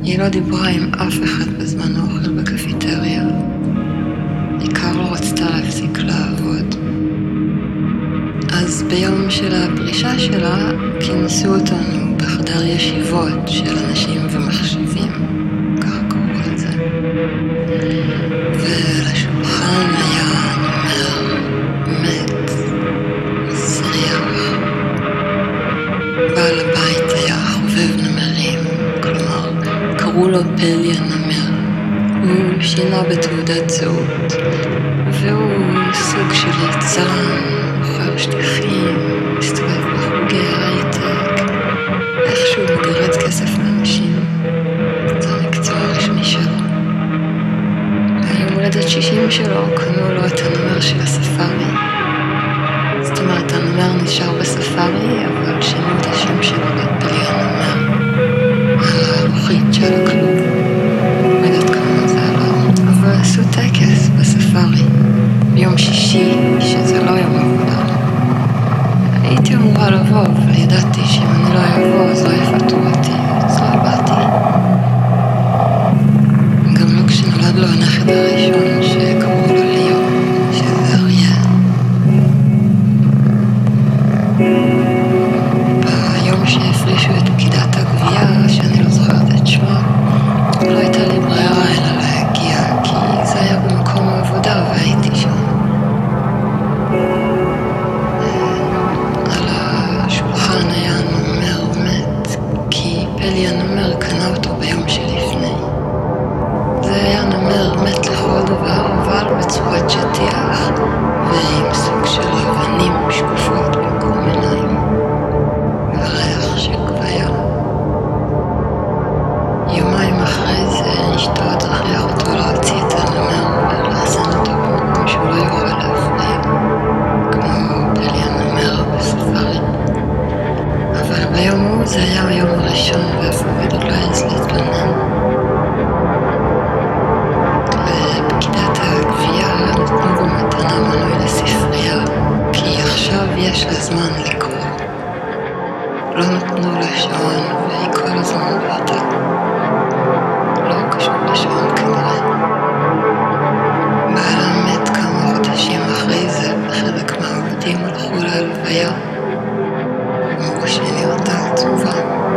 היא לא דיברה עם אף אחד בזמן האוכל בקפיטריה. בעיקר לא רצתה להפסיק לעבוד. אז ביום של הפרישה שלה כינסו אותנו בחדר ישיבות של אנשים ומחשבים, ככה קראו לזה. ולשולחן היה נמר מת, מסריח. בעל הבית היה חובב נמרים, כלומר קראו לו פלי הנמר. הוא שינה בתעודת זהות, והוא סוג של יצרן, מוכר שטיחים, מסתובב בחוגי הייטק, איכשהו מגרד כסף לאנשים. זה המקצוע הרשמי שלו. ביום הולדת 60 שלו קנו לו את הנמר של הספארי. זאת אומרת, הנמר נשאר בספארי, אבל שינו את השם שלו לפלי הנמר על הלוחית של הכלוב. לא יודעת כמה זה עלה, אבל עשו טקס בספארי ביום שישי, שזה לא יום עבודה. הייתי אמורה לבוא, אבל ידעתי שאם אני לא אבוא אז לא יפטרו אותי, אז לא באתי. גם לא כשנולד לו הנכד הראשון שקראו לו ליאו, שזה אריה. ביום שהפרישו את פקידת הגבייה, שאני לא זוכרת את שמה, לא הייתה לי ברירה אלא להגיע, כי זה היה במקום העבודה והייתי שם. על השולחן היה נמר מת, כי פלי הנמר קנה אותו ביום שלפני. זה היה נמר מת לכל דבר, אבל בצורת שטיח, ועם סוג של אבנים שקופות במקום עיניים, וריח של גוויה. יומיים אחרי זה אשתו תכריח אותו להוציא את הנמר ולאחסן אותו במקום שהוא לא יוכל להפריע, כמו פלי הנמר בספארי. אבל ביום הוא זה היה היום הראשון ואף עובד לא העז להתלונן. לפקידת הגבייה נתנו בו מתנה מנוי לספרייה, כי עכשיו יש לה זמן לקרוא. לא נתנו לה שעון והיא כל הזמן בעתה. לא קשור לשעון כנראה. בעלה מת כמה חודשים אחרי זה, וחלק מהעובדים הלכו להלוויה. אמרו שהיא נראתה עצובה.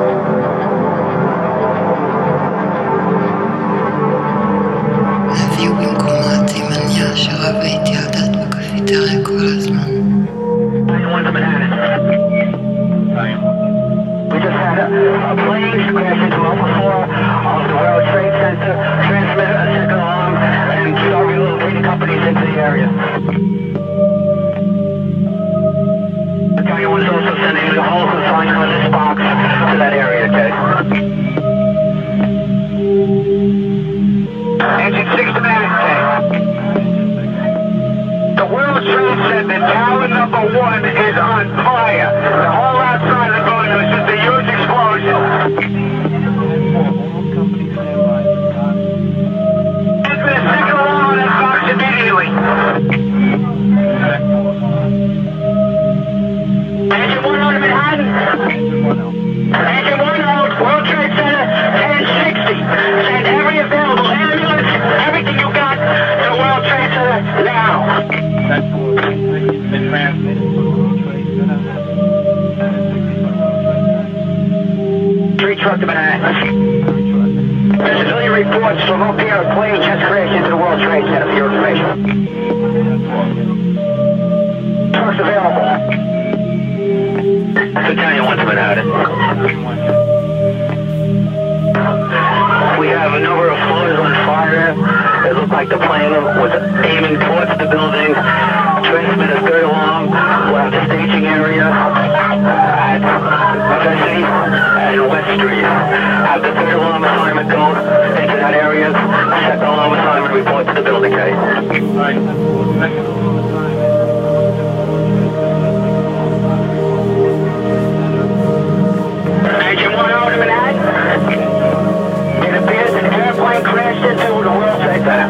הביאו במקומה תימניה שרבה איתי על דת בקפיטריה כל הזמן. We just had a plane crash into level 4 of the World Trade Center, transmit a second alarm, and start relocating companies into the area. The guy was also sending the whole consignment on this box to that area, okay? Engine 6 to man, okay? The World Trade Center, tower number 1 is on fire. The whole outside of the building was just a huge explosion. It's been a second alarm on that box immediately. Engine 1 out of Manhattan. Engine 1 out, World Trade Center, 1060. Send every available ambulance, everything you got to World Trade Center now. That's been transmitted to World Trade Center. Three truck to Manhattan. There's a million reports from up here. A plane just crashed into the World Trade Center for your information. Trucks available. Battalion 1 to Manhattan. We have a number of floors on fire. It looked like the plane was aiming towards the building. Transmit a third alarm. We'll have the staging area at Vesey and West Street. Have the third alarm assignment go into that area. Second alarm assignment report to the building, okay? Alright. Second alarm assignment. Engine 1 out of Manhattan. It appears an airplane crashed into the World Trade Center.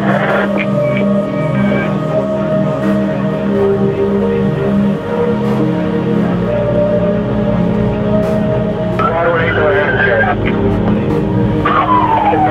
Broadway, go ahead, sir.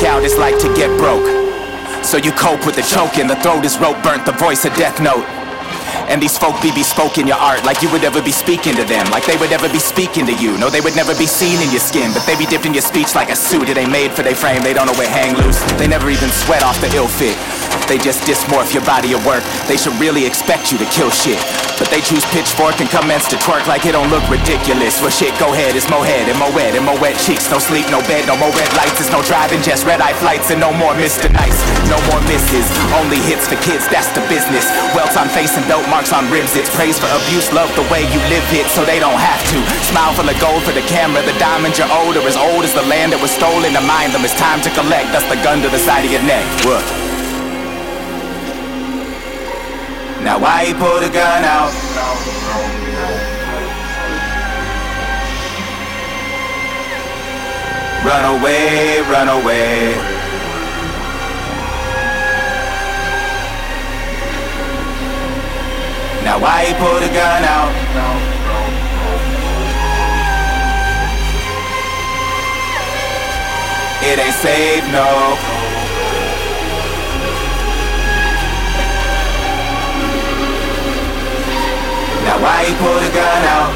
out is like to get broke. So you cope with the choking, the throat is rope burnt, the voice a death note. And these folk be bespoke in your art, like you would ever be speaking to them, like they would ever be speaking to you. No, they would never be seen in your skin, but they be dipped in your speech like a suit. It ain't made for their frame, they don't know where hang loose. They never even sweat off the ill fit. They just dysmorph your body of work. They should really expect you to kill shit, but they choose pitchfork and commence to twerk like it don't look ridiculous. Well shit, go ahead, it's more head and more wet cheeks. No sleep, no bed, no more red lights. It's no driving, just red-eye flights and no more Mr. Nice. No more misses, only hits for kids, that's the business. Welts on face and belt marks on ribs. It's praise for abuse, love the way you live it, so they don't have to. Smile full of gold for the camera, the diamonds you're owed are as old as the land that was stolen. To mind them, it's time to collect, that's the gun to the side of your neck. What? Now why you pull the gun out? Run away, run away. Now why you pull the gun out? It ain't safe, no. Now why you pull the gun out?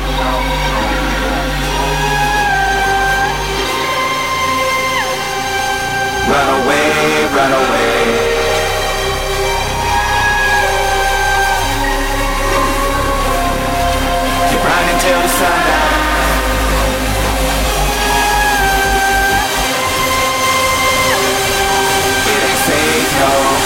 Run away, run away. Keep running till the sundown. It ain't safe, no.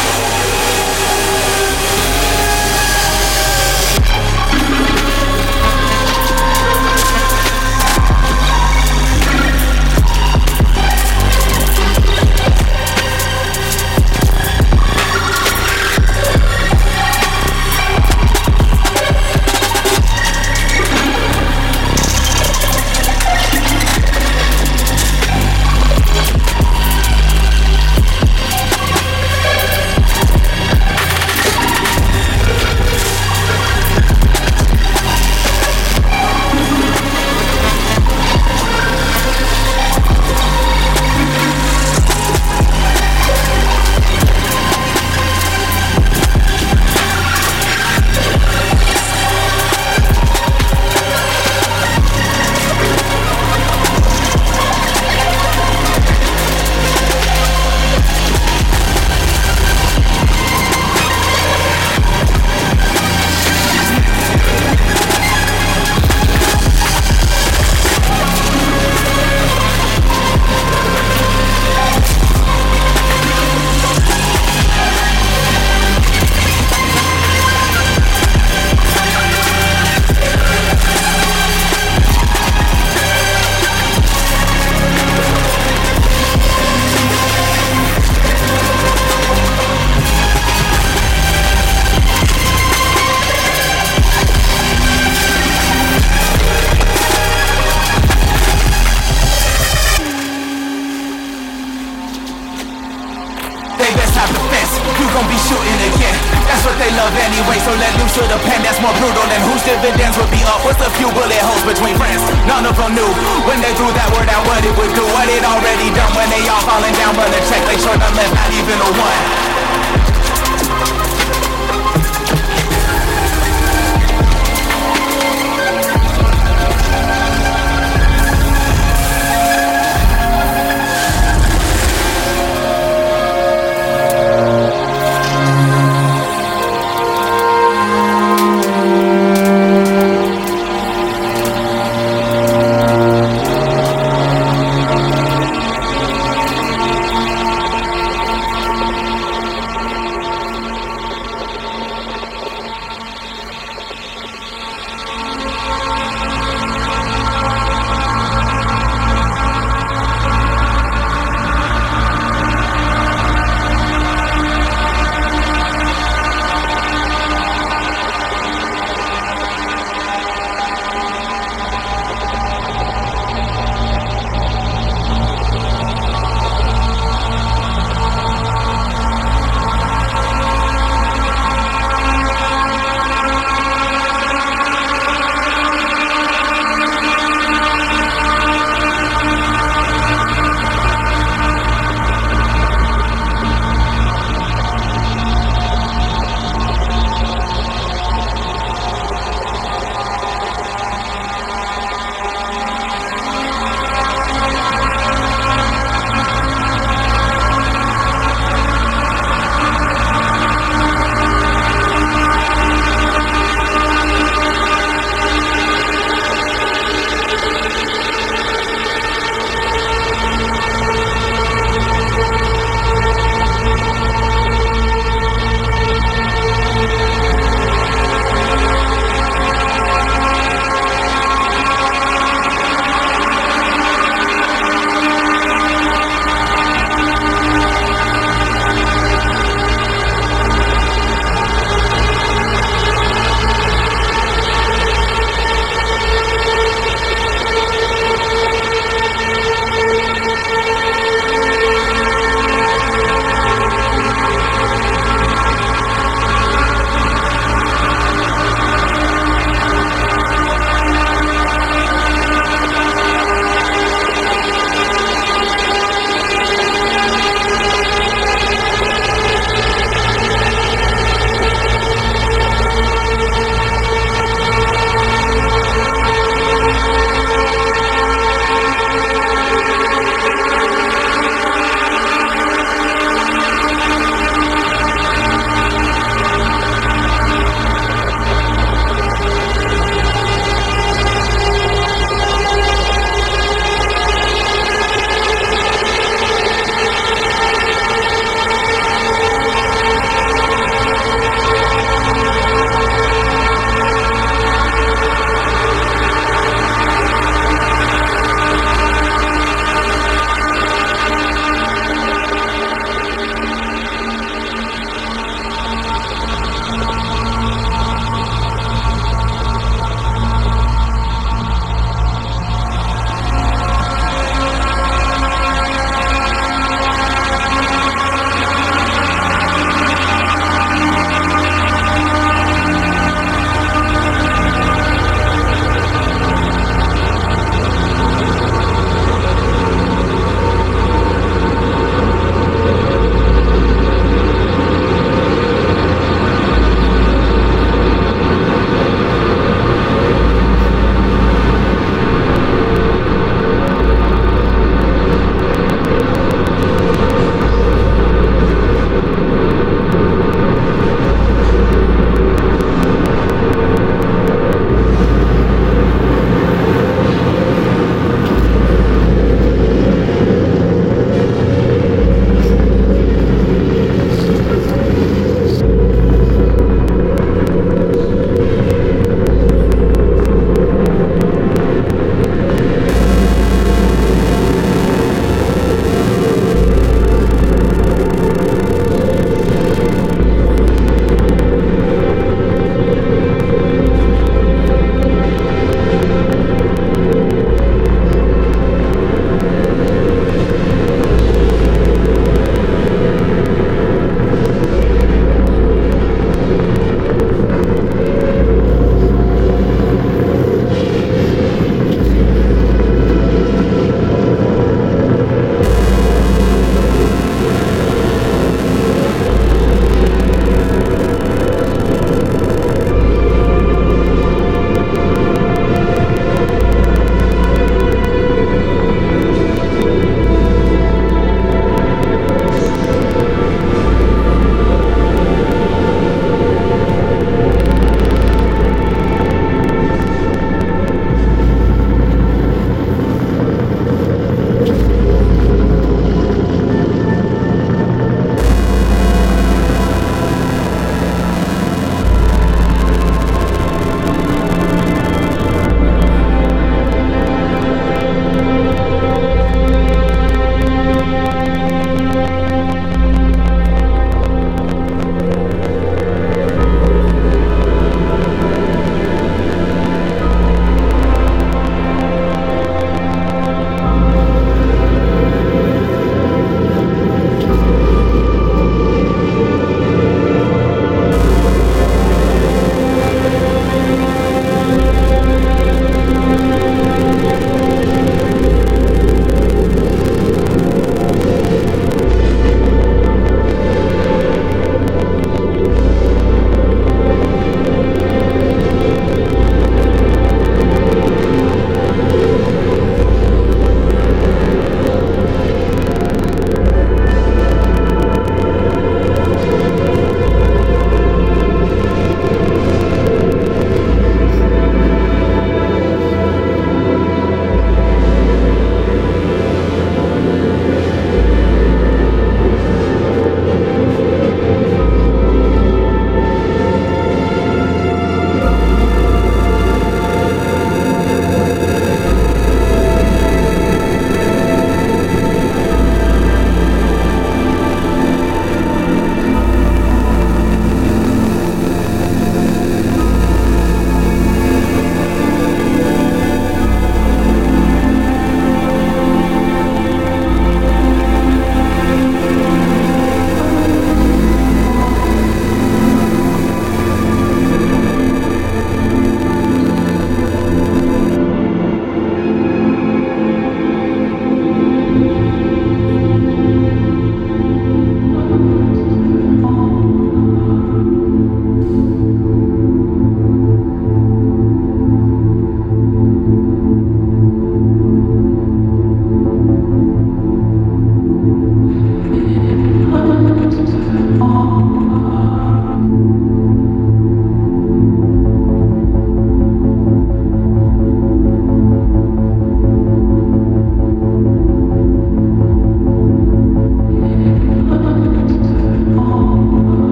Anyway, so let loose to the pen that's more brutal than whose dividends would be up. What's a few bullet holes between friends? None of them knew when they threw that word out what it would do. What it already done when they all falling down, but the check they short them left, not even a one.